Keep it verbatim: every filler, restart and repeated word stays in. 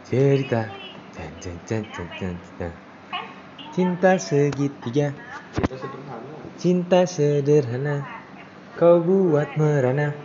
Cerita Cen, cen, cen, cen, cen, cen. Cinta segitiga, Cinta sederhana. cinta sederhana, kau buat merana.